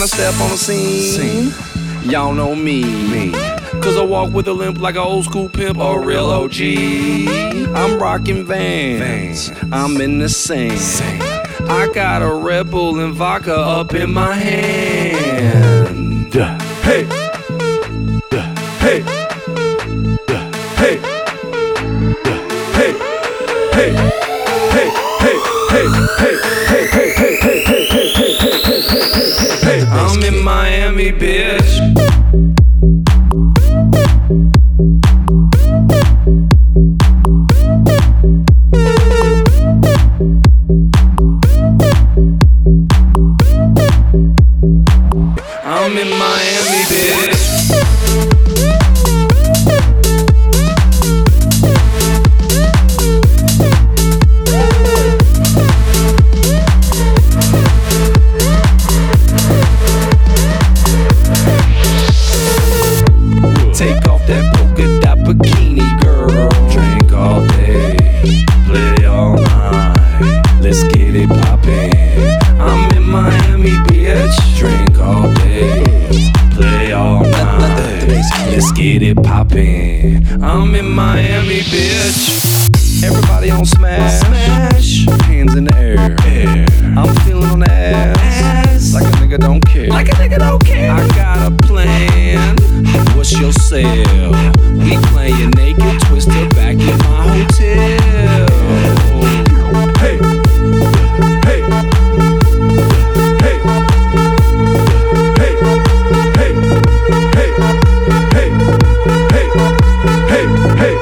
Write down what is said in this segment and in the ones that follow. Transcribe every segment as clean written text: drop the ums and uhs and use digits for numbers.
when I step on the scene. Y'all know me. Cause I walk with a limp like an old school pimp or a real OG. I'm rocking Vans, I'm in the sand. I got a Red Bull and vodka up in my hand. Hey, hey, hey, hey, hey, hey, hey, hey, hey. I'm in Miami, bitch. I'm in Miami, bitch. Take off that polka dot bikini, girl. Drink all day, play all night. Let's get it poppin'. I'm in Miami, bitch. Drink all day, play all night. Let's get it poppin'. I'm in Miami, bitch. Everybody on smash, hands in the air. I'm feeling on the ass, like a nigga don't care. I got a plan. What's your sale? We playin' naked, twisted back in my hotel. Hey, hey, hey, hey, hey, hey, hey, hey, hey,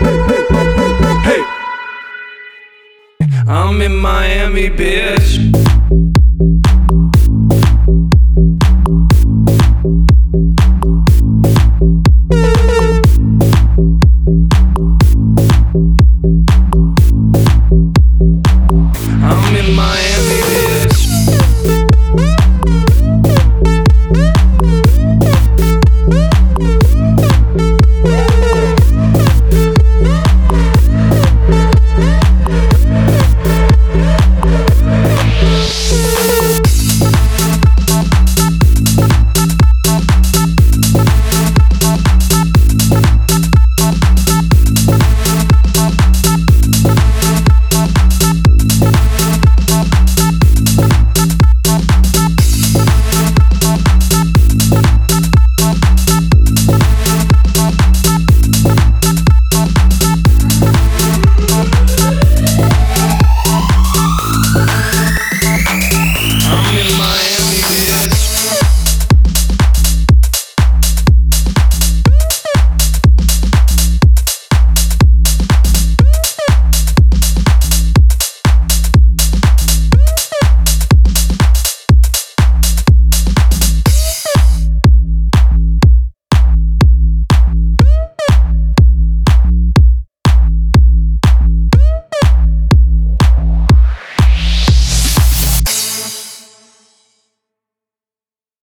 hey. I'm in Miami, bitch.